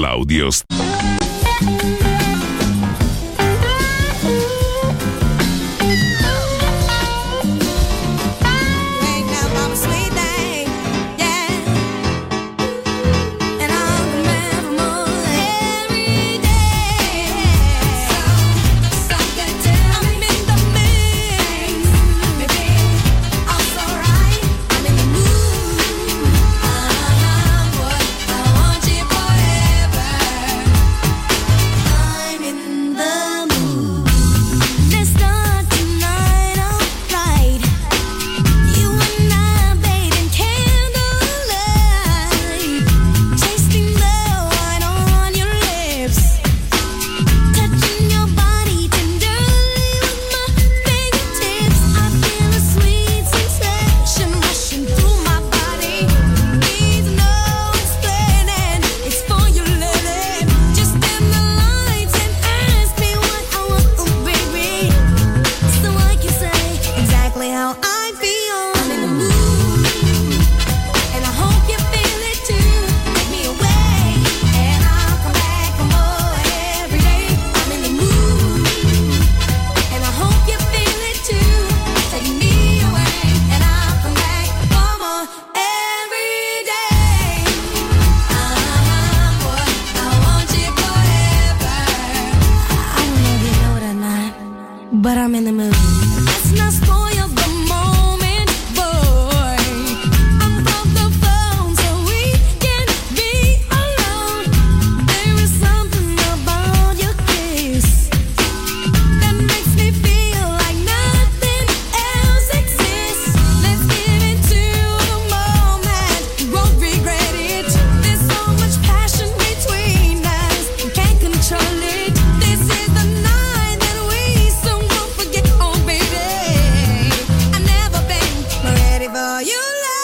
dall'audio. But I'm in the mood. Let's not spoil the moment, boy. Unplug the phone so we can be alone. There is something about your kiss that makes me feel like nothing else exists. Let's give into the moment, we won't regret it. There's so much passion between us, we can't control it. This is the night that we so won't forget. Oh baby, I've never been more ready for you.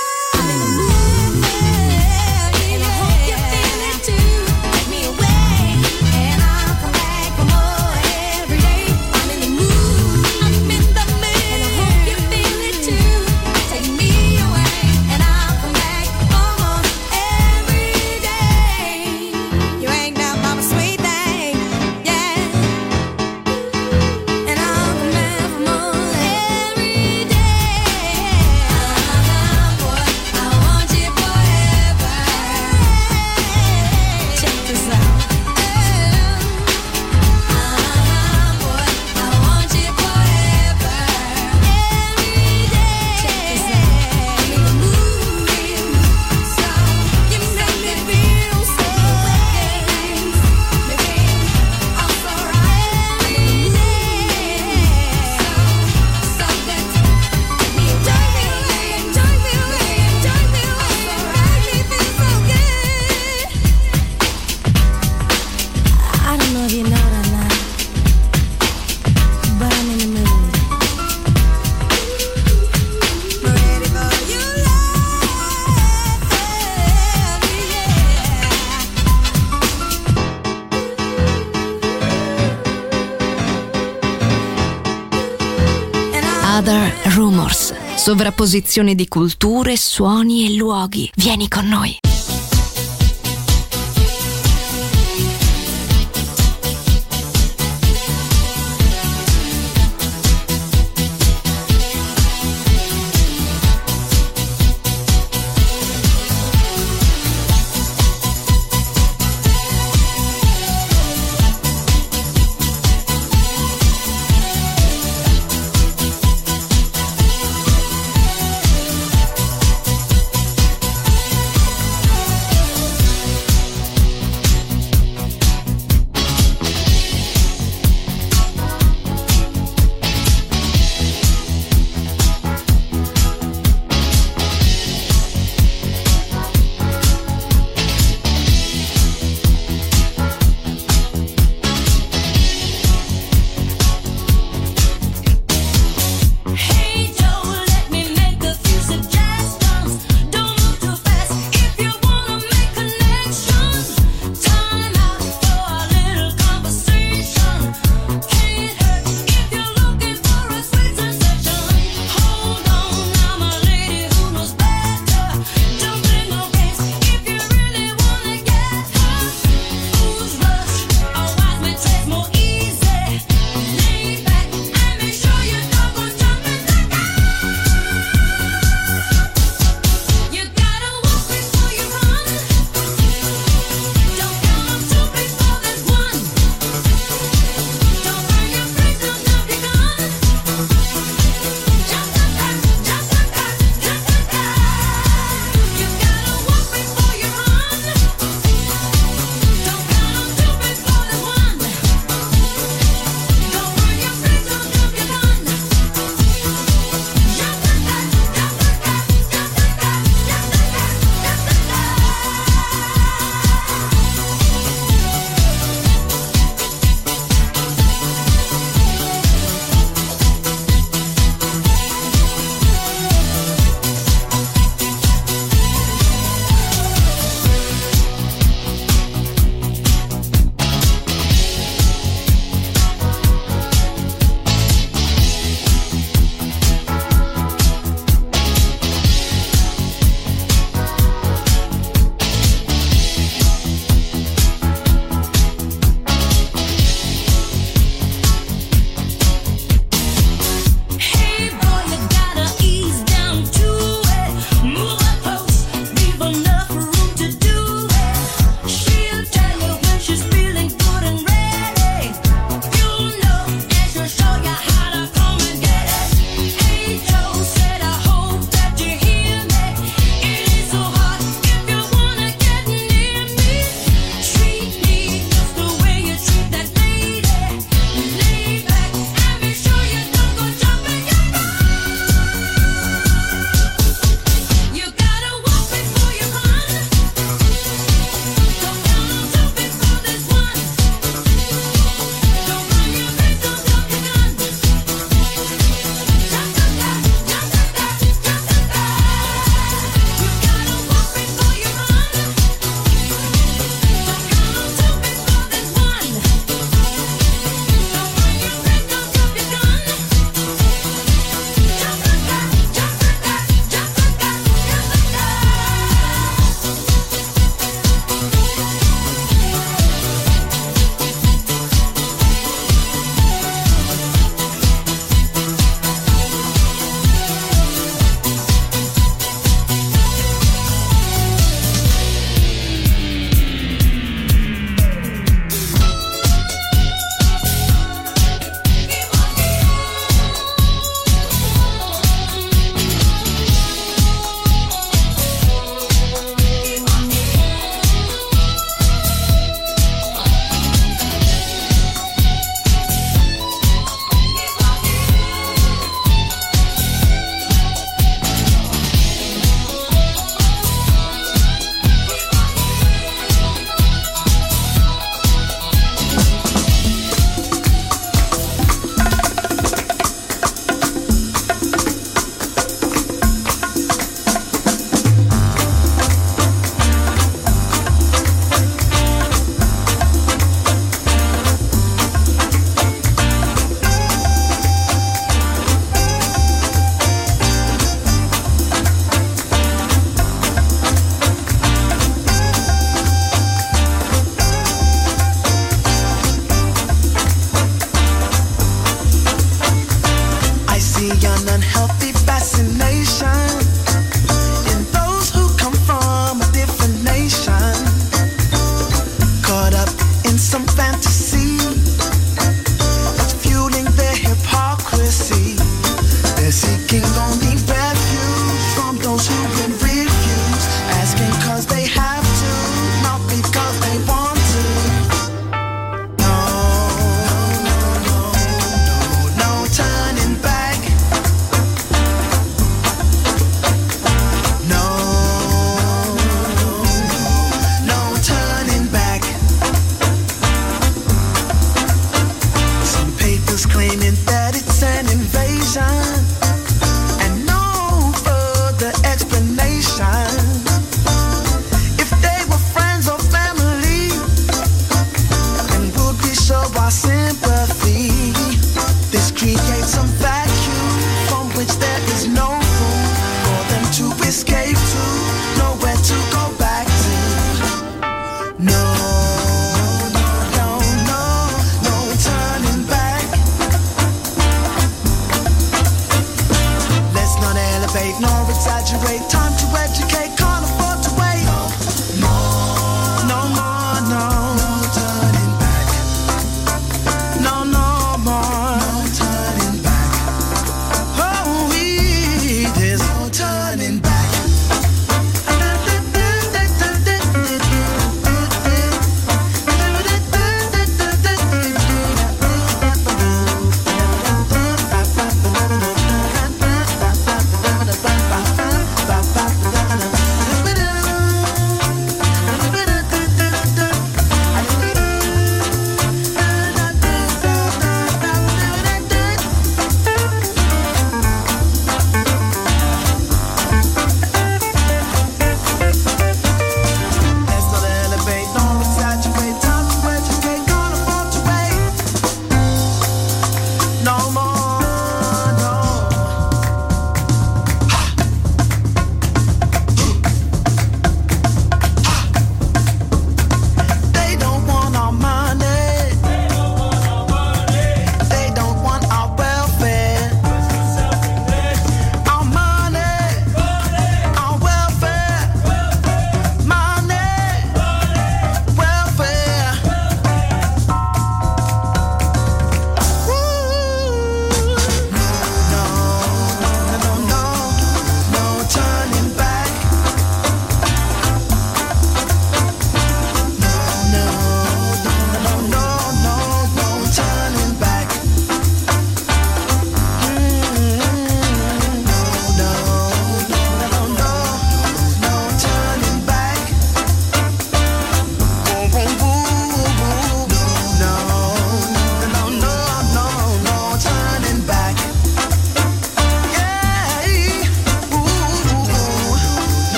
And I hope you feel it too. Take me away, and I'll come back for more every day. I'm in the mood, I'm in the mood. And I hope you feel it too. Take me away, and I'll come back for more every day. You ain't nothing but a sweet thing, yeah. And I'll come back for more every day. Boy, I want you forever. Check this out. Boy, I want you forever. Every day. Check this out. I'm in the mood, so you make me feel so good. Baby, I'm so right. I'm in the mood, so good. Take me away, take me away, take me away. Make me feel so good. I don't know if you know that or not, but I'm in the mood. Ready for your love, yeah. Other Rumors, sovrapposizione di culture, suoni e luoghi. Vieni con noi.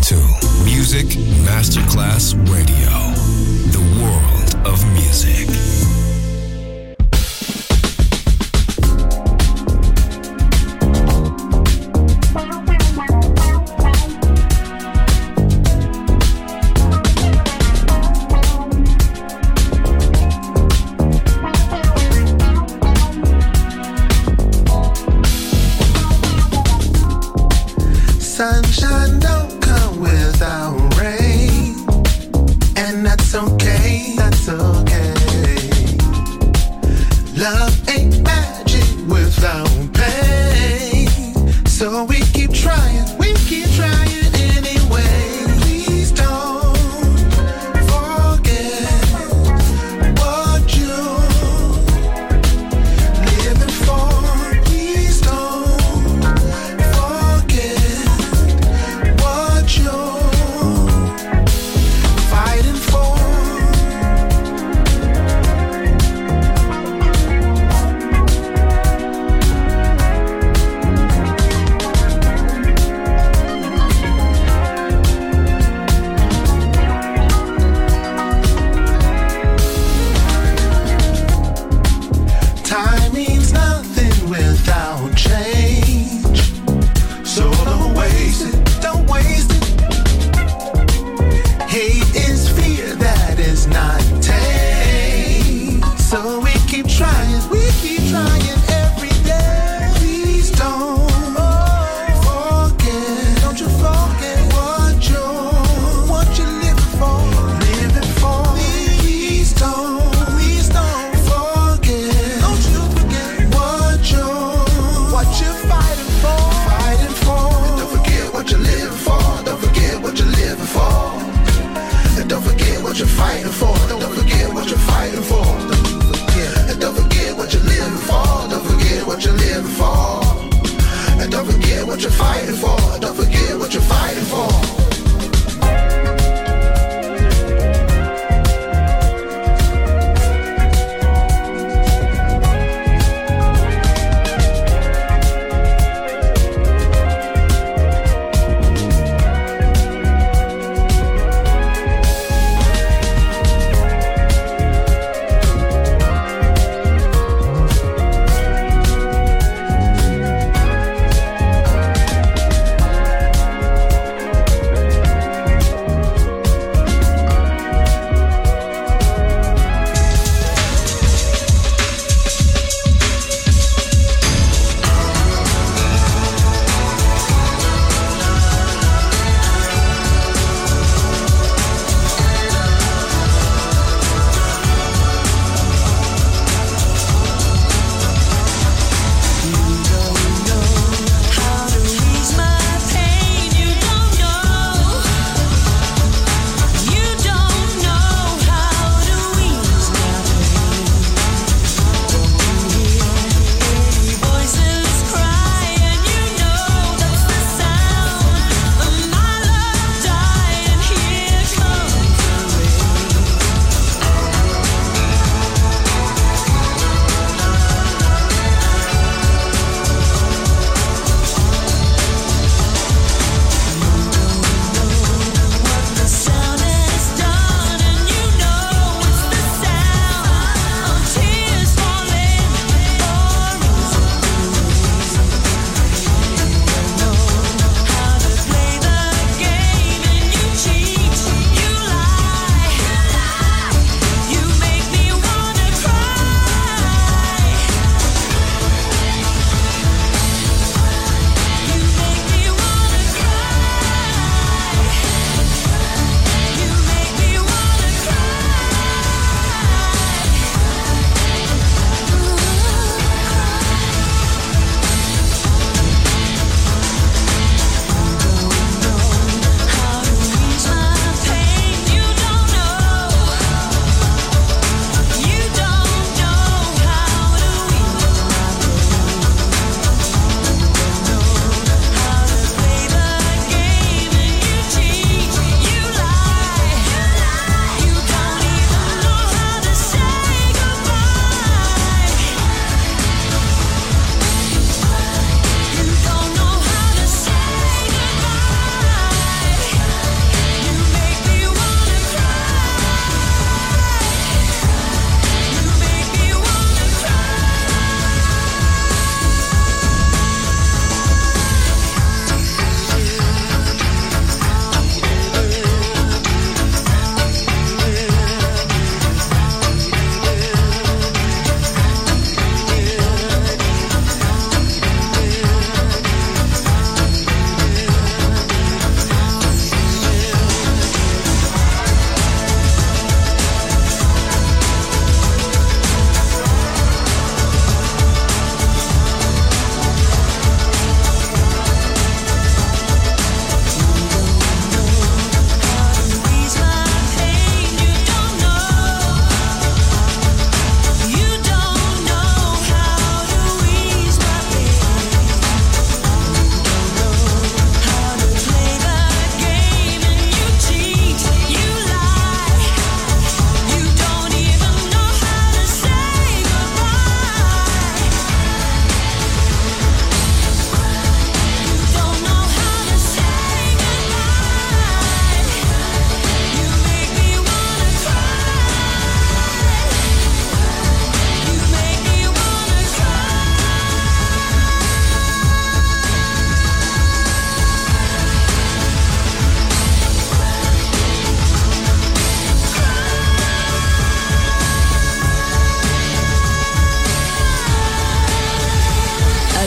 to Music Masterclass Radio, the world of music. Sunshine don't come without rain, and that's okay.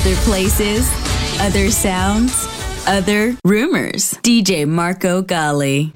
Other places, other sounds, other rumors. DJ Marco Gally.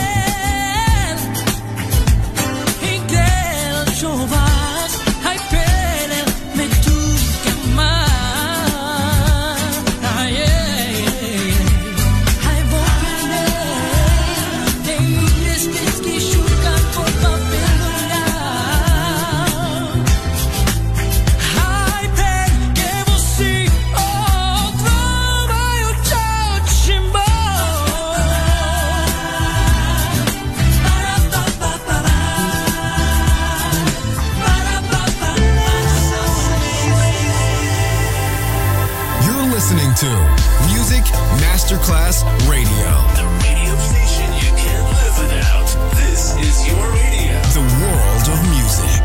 Ai Masterclass Radio. The radio station you can't live without. This is your radio. The world of music.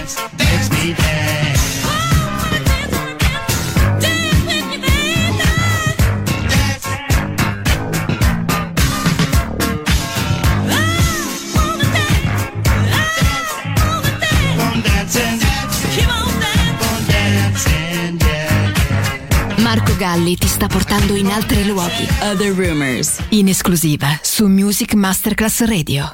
dance, makes me dance. Marco Galli ti sta portando in altri luoghi. Other Rumors. In esclusiva su Music Masterclass Radio.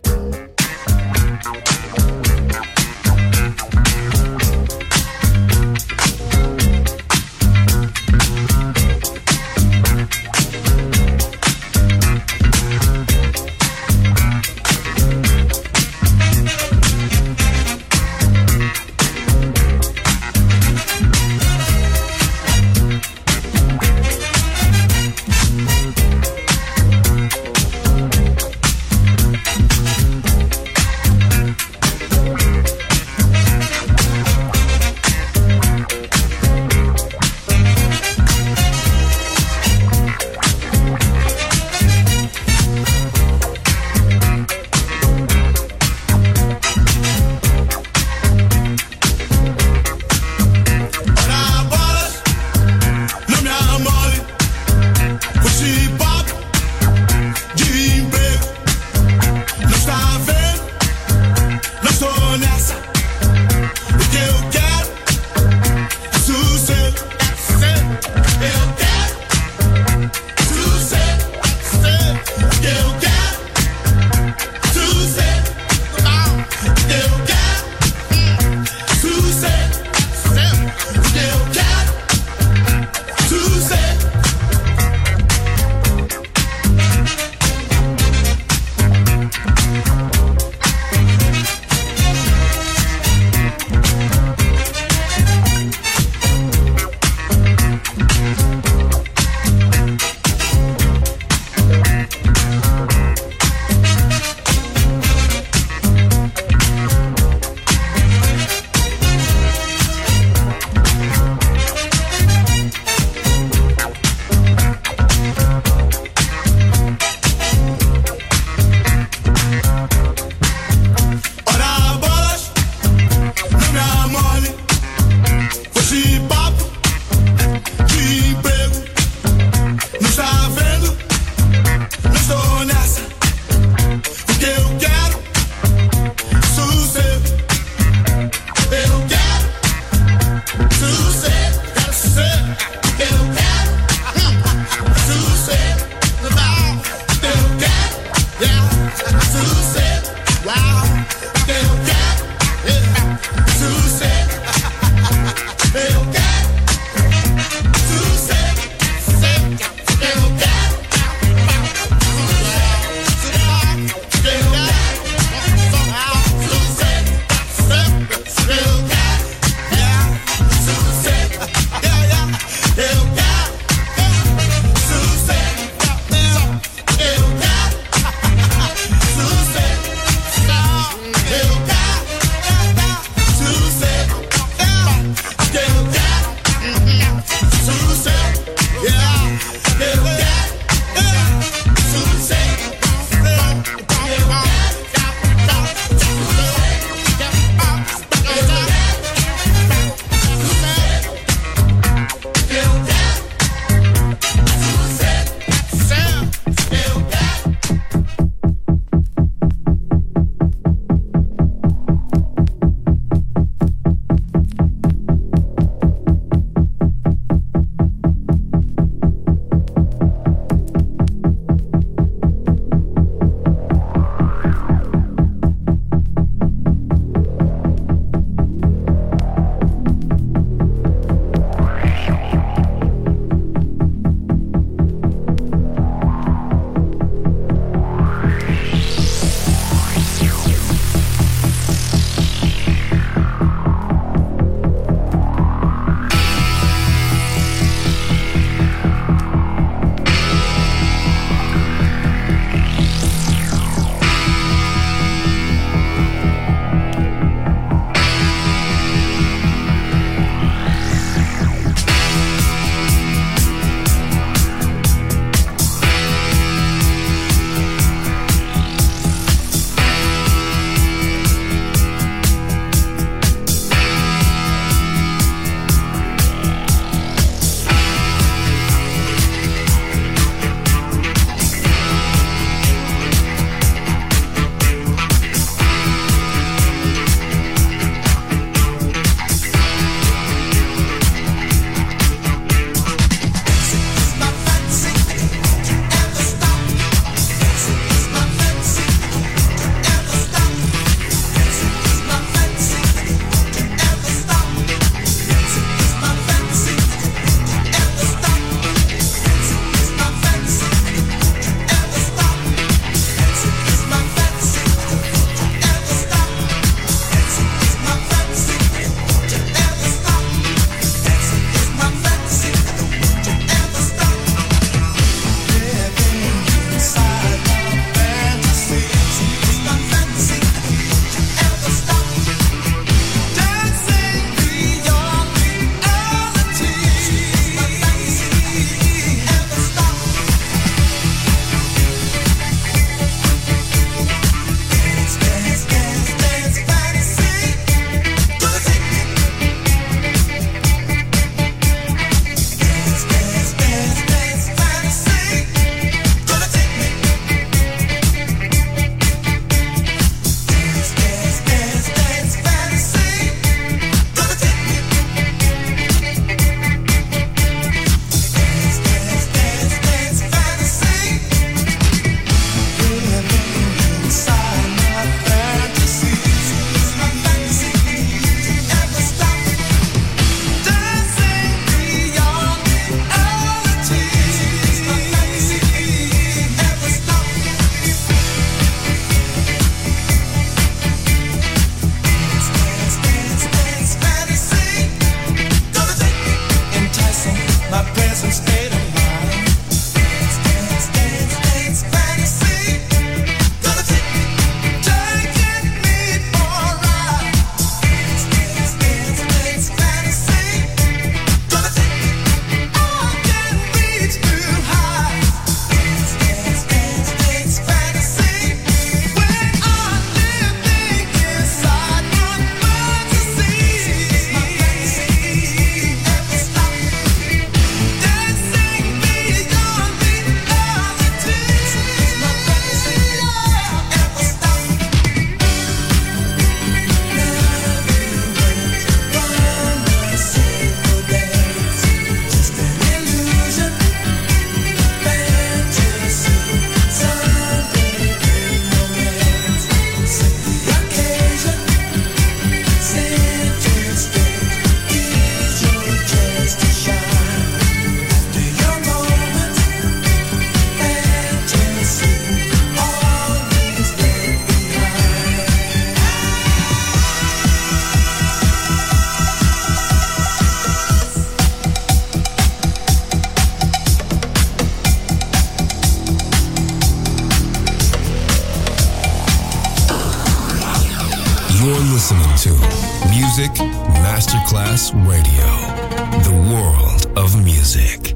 listening to Music Masterclass Radio, the world of music.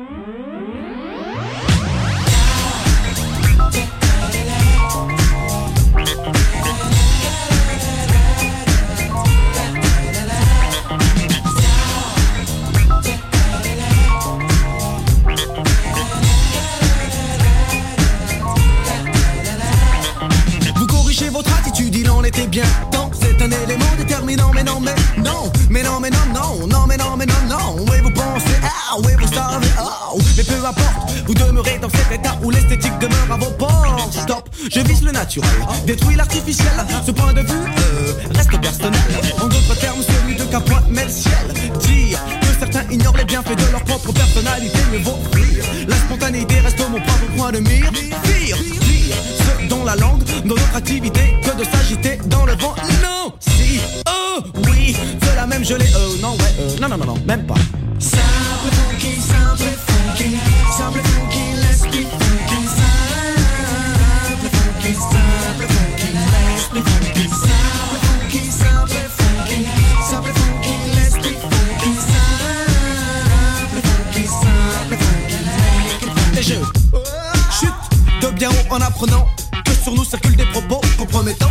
Vous corrigez votre attitude, il en était bien temps. C'est un élément déterminant, mais non, mais non. Mais non, mais non, non, non, mais non, mais non, non. Oui, vous pensez, ah, oui, vous savez, oh. Mais peu importe, vous demeurez dans cet état où l'esthétique demeure à vos portes. Stop, je vise le naturel, détruis l'artificiel. Ce point de vue reste personnel. En d'autres termes, celui de Capointe met le ciel. Dire que certains ignorent les bienfaits de leur propre personnalité, mais vaut fuir. La spontanéité reste mon propre point de mire. Pire, ce dont la langue, dans notre activité, que de s'agiter dans le vent. Non, si, oh, oui, cela même je l'ai, non, ouais, non, non, non, non, même pas. Simple funky, simple funky, simple funky, let's be funky. Simple funky, simple funky, let's be funky. Simple funky, simple funky, simple funky, let's be funky. Simple funky, simple funky, make it funky. Et je chute de bien haut en apprenant que sur nous circulent des propos compromettants,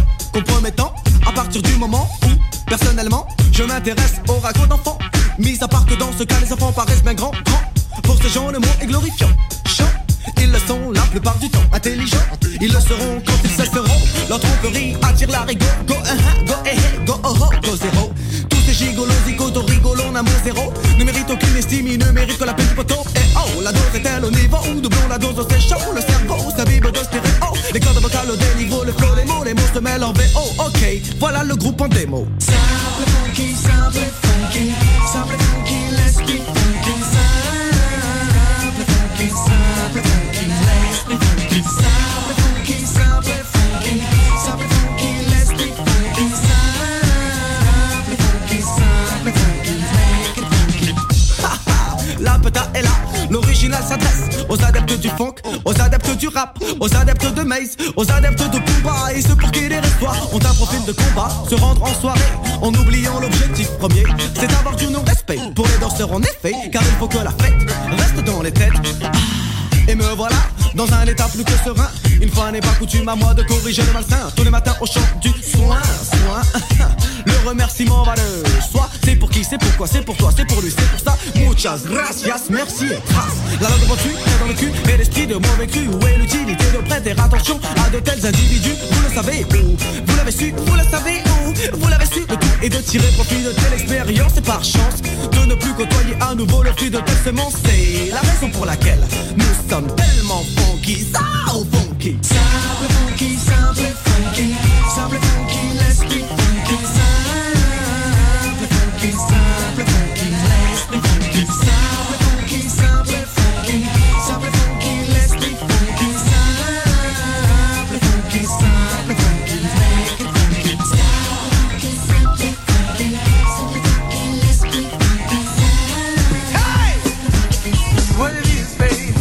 à partir du moment où, personnellement, je m'intéresse aux ragots d'enfants. Mis à part que dans ce cas, les enfants paraissent bien grands. Pour ces gens, le mot est glorifiant. Chant, ils le sont la plupart du temps. Intelligents, ils le seront quand ils cesseront. Leur tromperie attire la rigo. Go, go, go, oh, oh, go, zéro. Tous ces gigolos, zigotos, rigolos, en amour zéro. Ne méritent aucune estime, ils ne méritent que la peine du poteau. Et oh, la dose est-elle au niveau où doublons la dose, c'est chaud. Le cerveau s'abîme de stéréo. Les cordes vocales au déniveau, le flow, les mots se mêlent en VO. Ok, voilà le groupe en démo. Simple funky, simple funky, simple funky, let's be funky. Simple funky, simple funky, let's be funky. Simple funky, simple funky, simple funky, let's be funky. Simple funky, simple funky, make it funky. Ha ha, la peta est là, l'original s'adresse aux adeptes du funk, aux adeptes du rap, aux adeptes de Maze, aux adeptes de Pumba et ceux pour qui les histoires ont un profil de combat. Se rendre en soirée en oubliant l'objectif premier, c'est d'avoir du non-respect pour les danseurs en effet, car il faut que la fête reste dans les têtes. Et me voilà dans un état plus que serein. Une fois n'est pas coutume à moi de corriger le malsain. Tous les matins au chant du soin. Le remerciement va de soi. C'est pour qui, c'est pourquoi, c'est pour toi, c'est pour lui, c'est pour ça. Muchas gracias, merci et trace. La langue reçue est dans le cul et l'esprit de mauvais cru. Où est l'utilité de prêter attention à de tels individus? Vous le savez où? Vous l'avez su, vous le savez où? Vous l'avez su, le tout est de tirer profit de telle expérience. Et par chance de ne plus côtoyer à nouveau le fruit de telle semence. C'est la raison pour laquelle nous sommes tellement funky, so funky. Simple funky, simple funky, simple funky, let's be funky. Simple funky, simple funky, let's be funky. Simple funky, simple funky, simple funky, let's be funky. Simple funky, simple funky, make it funky. Simple funky, simple funky, simple funky, let's be funky. Hey, what it is, baby?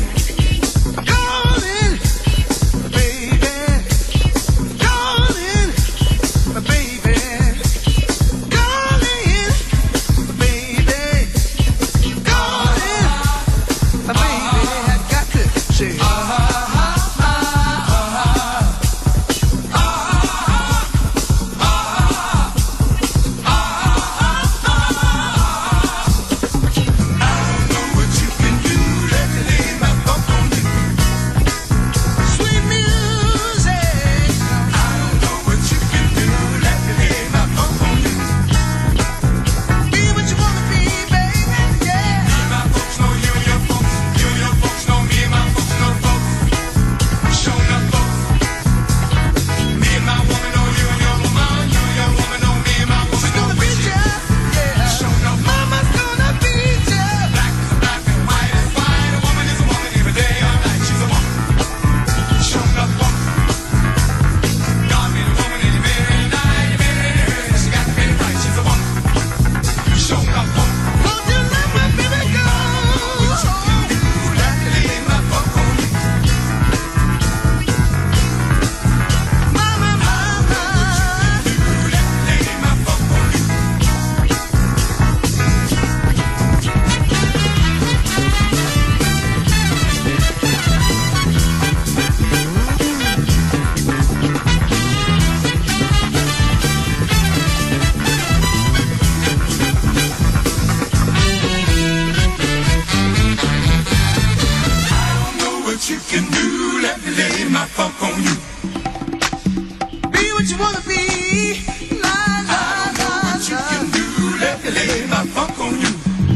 can do, let me lay my funk on you. Be what you wanna be. La, la, I know la, what you la. can do, let me lay my funk on you.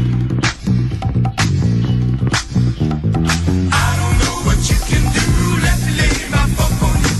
I don't know what you can do, let me lay my funk on you.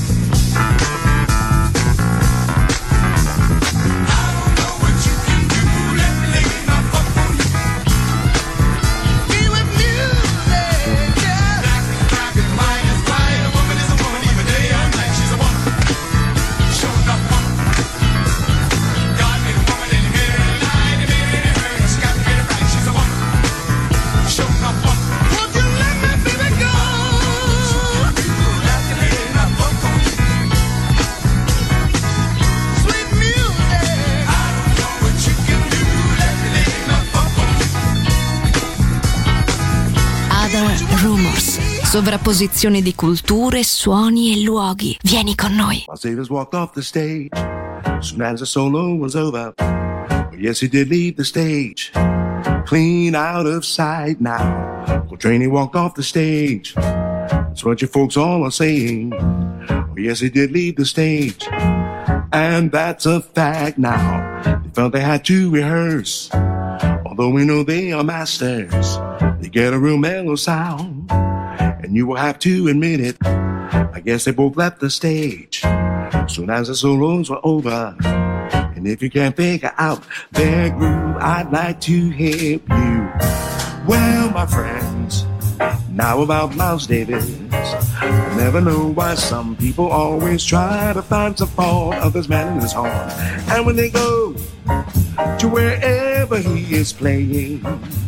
I don't know what you can do, let me lay my funk on you. Be with music, yeah. Black and white is white, a woman is a woman, even day or night, she's a woman. Show enough funk. God made a woman and he made her a lie, he made it her, she got to get it right, she's a woman. Show enough funk. Won't you let me baby go? Let me lay my funk on you. Sweet music. I don't know what you can do, let me lay my funk on you. Other Rumors. Sovrapposizione di culture, suoni e luoghi. Vieni con noi. My saviors walked off the stage soon as the solo was over. But yes, he did leave the stage, clean out of sight now. Coltrane walked off the stage. That's what you folks all are saying. Oh, yes, he did leave the stage, and that's a fact now. They felt they had to rehearse, although we know they are masters. They get a real mellow sound, and you will have to admit it. I guess they both left the stage soon as the solos were over. And if you can't figure out their groove, I'd like to help you. Well, my friends, now about Miles Davis. I never know why some people always try to find some fault others man in his horn. And when they go to wherever he is playing,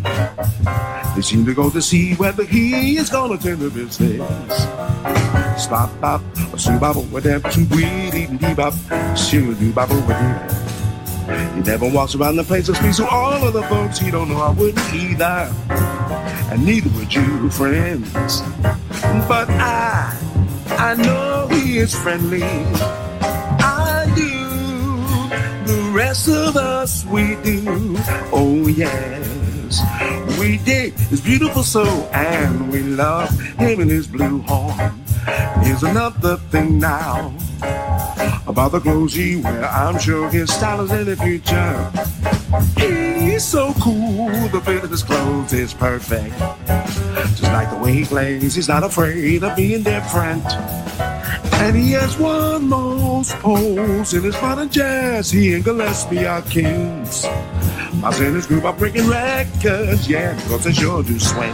they seem to go to see whether he is gonna turn the business. Stop, bop, a bop, whatever, some weed, eating bebop, shoo bop, whatever. He never walks around the place and speaks to all of the folks he don't know. I wouldn't either, and neither would you, friends. But I know he is friendly. I do. The rest of us, we do. Oh yes, we dig his beautiful soul, and we love him and his blue horn. Here's another thing now about the clothes he wear. I'm sure his style is in the future. He's so cool, the fit of his clothes is perfect. Just like the way he plays, he's not afraid of being different. And he has won most polls in his modern jazz. He and Gillespie are kings. Miles and his group are breaking records, yeah, because they sure do swing.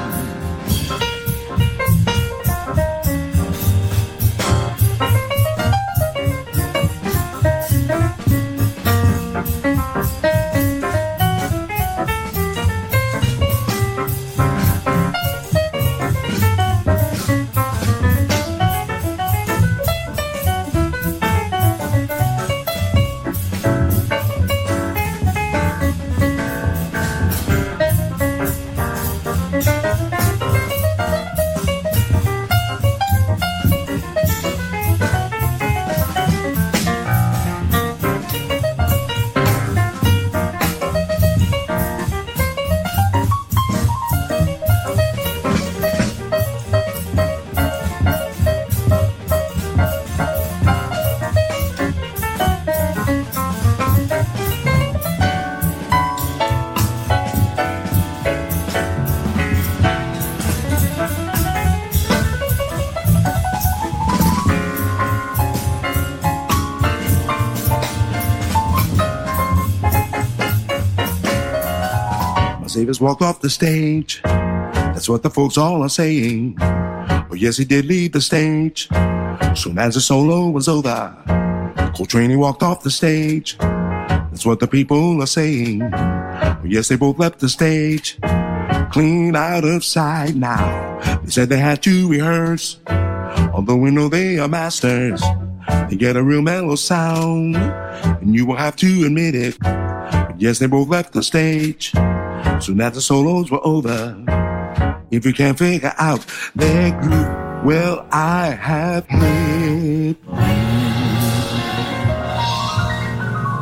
Davis walked off the stage. That's what the folks all are saying. Oh yes, he did leave the stage soon as the solo was over. Coltrane walked off the stage. That's what the people are saying. Oh yes, they both left the stage, clean out of sight now. They said they had to rehearse, although we know they are masters. They get a real mellow sound, and you will have to admit it. But yes, they both left the stage soon as the solos were over. If you can't figure out their groove, well, I have hit.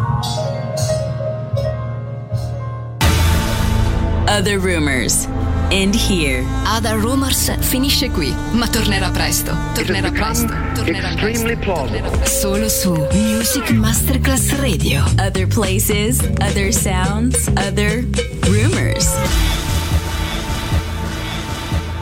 Other Rumors. end here. Other Rumors finisce qui, ma tornerà presto. Tornerà presto. Extremely plausible. Solo su Music Masterclass Radio. Other places, other sounds, other rumors.